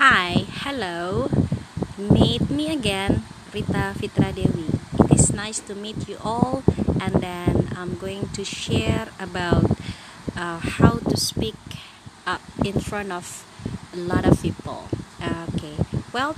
Hi, hello. Meet me again, Rita Fitra Dewi. It is nice to meet you all, and then I'm going to share about how to speak up in front of a lot of people. Okay. Well,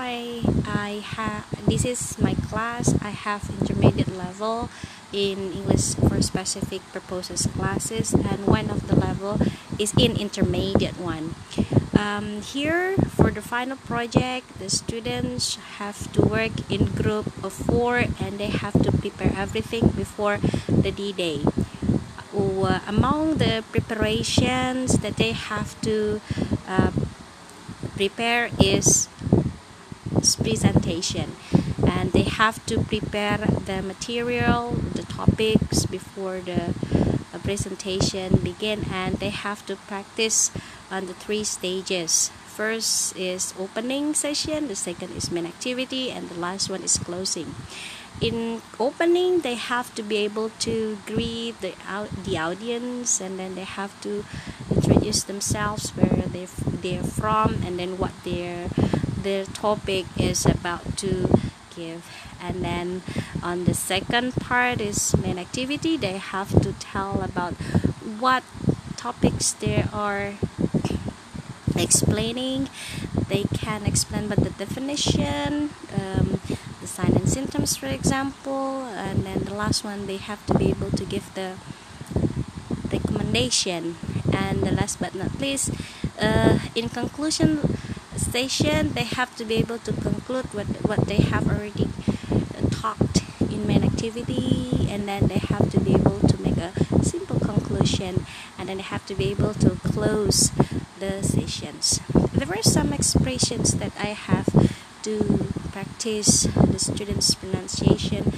this is my class. I have intermediate level in English for specific purposes classes, and one of the level is in intermediate one. Here for the final project, the students have to work in group of 4 and they have to prepare everything before the D-Day. Among the preparations that they have to prepare is presentation, and they have to prepare the material, the topics before the presentation begin, and they have to practice on the 3 stages. First is opening session, the second is main activity, and the last one is closing. In opening, they have to be able to greet the audience, and then they have to introduce themselves, where they're from, and then what their topic is about to give. And then on the second part is main activity. They have to tell about what topics they are explaining. They can explain about the definition, the sign and symptoms, for example, and then the last one, they have to be able to give the recommendation. And the last but not least, in conclusion session, they have to be able to conclude what they have already talked in main activity, and then they have to be able to make a simple conclusion, and then they have to be able to close the sessions. There were some expressions that I have to practice the students' pronunciation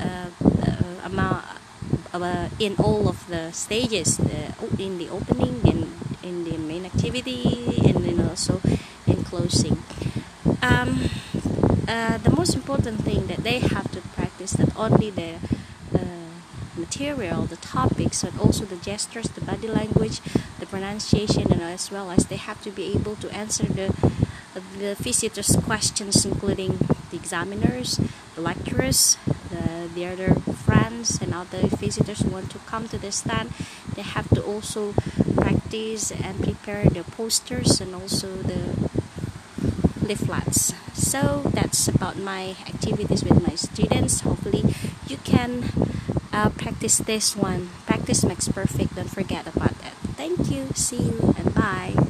in all of the stages, in the opening, in the main activity, and then also in closing. The most important thing that they have to practice, not only the material, the topics, but also the gestures, the body language, the pronunciation, and as well as they have to be able to answer the visitors' questions, including the examiners, the lecturers, the other friends, and other visitors who want to come to the stand. They have to also practice and prepare the posters and also the leaflets. So that's about my activities with my students. Hopefully you can practice this one. Practice makes perfect. Don't forget about it. Thank you. See you and bye.